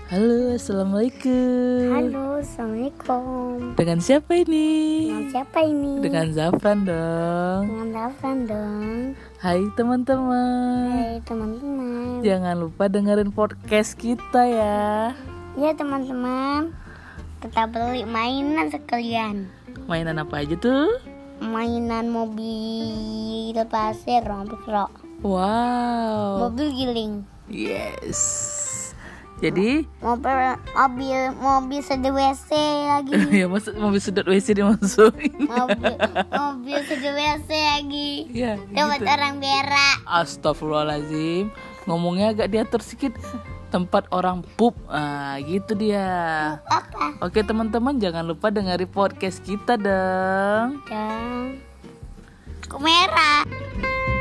Halo, assalamualaikum. Halo, assalamualaikum. Dengan siapa ini? Dengan siapa ini? Dengan Zafran dong. Dengan Zafran dong. Hai teman-teman. Hai teman-teman. Jangan lupa dengerin podcast kita ya. Ya teman-teman, kita beli mainan sekalian. Mainan apa aja tuh? Mainan mobil pasir, Wow. mobil giling, Yes. Jadi mobil sedih WC lagi. ya maksud mobil sedot WC dimasukin. mobil sedih WC lagi. Ya, Dapat gitu. orang berak. Astagfirullahaladzim. Ngomongnya agak diatur sedikit. Tempat orang pup. Gitu dia. Apa? Oke teman-teman, jangan lupa dengerin podcast kita dong. Dan merah.